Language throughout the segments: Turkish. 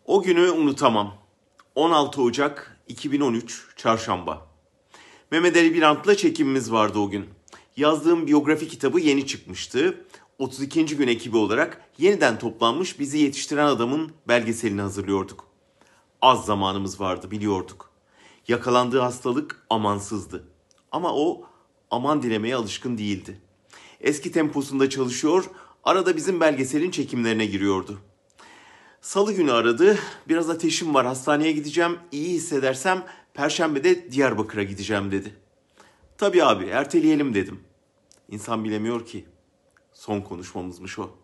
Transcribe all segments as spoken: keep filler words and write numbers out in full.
O günü unutamam. on altı Ocak iki bin on üç Çarşamba. Mehmet Ali Birant'la çekimimiz vardı o gün. Yazdığım biyografi kitabı yeni çıkmıştı. otuz ikinci gün ekibi olarak yeniden toplanmış bizi yetiştiren adamın belgeselini hazırlıyorduk. Az zamanımız vardı, biliyorduk. Yakalandığı hastalık amansızdı. Ama o aman dilemeye alışkın değildi. Eski temposunda çalışıyor, arada bizim belgeselin çekimlerine giriyordu. Salı günü aradı. Biraz ateşim var, hastaneye gideceğim. İyi hissedersem Perşembe'de Diyarbakır'a gideceğim dedi. Tabii abi, erteleyelim dedim. İnsan bilemiyor ki. Son konuşmamızmış o.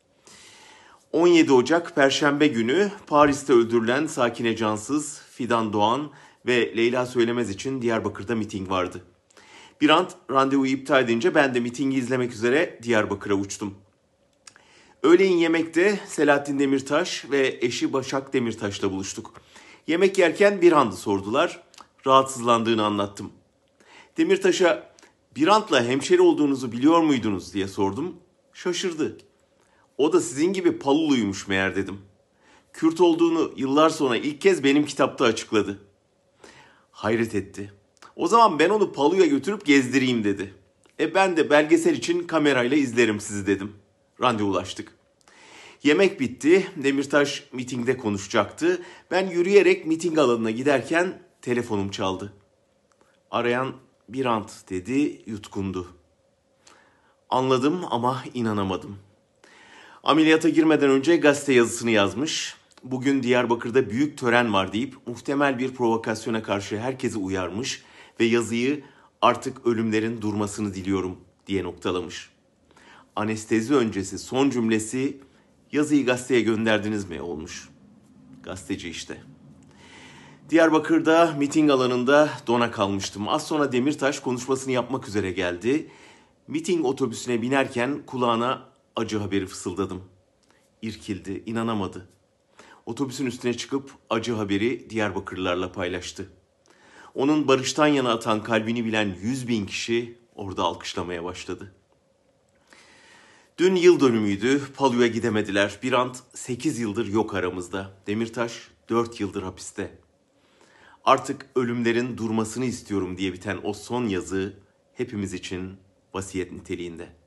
on yedi Ocak Perşembe günü Paris'te öldürülen Sakine Cansız, Fidan Doğan ve Leyla Söylemez için Diyarbakır'da miting vardı. Birant randevuyu iptal edince ben de mitingi izlemek üzere Diyarbakır'a uçtum. Öğleyin yemekte Selahattin Demirtaş ve eşi Başak Demirtaş'la buluştuk. Yemek yerken Birant'ı sordular. Rahatsızlandığını anlattım. Demirtaş'a Birant'la hemşeri olduğunuzu biliyor muydunuz diye sordum. Şaşırdı. O da sizin gibi Paluluymuş meğer dedim. Kürt olduğunu yıllar sonra ilk kez benim kitapta açıkladı. Hayret etti. O zaman ben onu Palu'ya götürüp gezdireyim dedi. E ben de belgesel için kamerayla izlerim sizi dedim. Randevulaştık. Yemek bitti. Demirtaş mitingde konuşacaktı. Ben yürüyerek miting alanına giderken telefonum çaldı. Arayan Birant dedi, yutkundu. Anladım ama inanamadım. Ameliyata girmeden önce gazete yazısını yazmış. Bugün Diyarbakır'da büyük tören var deyip muhtemel bir provokasyona karşı herkesi uyarmış ve yazıyı artık ölümlerin durmasını diliyorum diye noktalamış. Anestezi öncesi son cümlesi yazıyı gazeteye gönderdiniz mi olmuş. Gazeteci işte. Diyarbakır'da miting alanında dona kalmıştım. Az sonra Demirtaş konuşmasını yapmak üzere geldi. Miting otobüsüne binerken kulağına acı haberi fısıldadım. İrkildi, inanamadı. Otobüsün üstüne çıkıp acı haberi Diyarbakırlılarla paylaştı. Onun barıştan yana atan kalbini bilen yüz bin kişi orada alkışlamaya başladı. Dün yıl dönümüydü, Palu'ya gidemediler. Birant sekiz yıldır yok aramızda. Demirtaş dört yıldır hapiste. Artık ölümlerin durmasını istiyorum diye biten o son yazı hepimiz için vasiyet niteliğinde.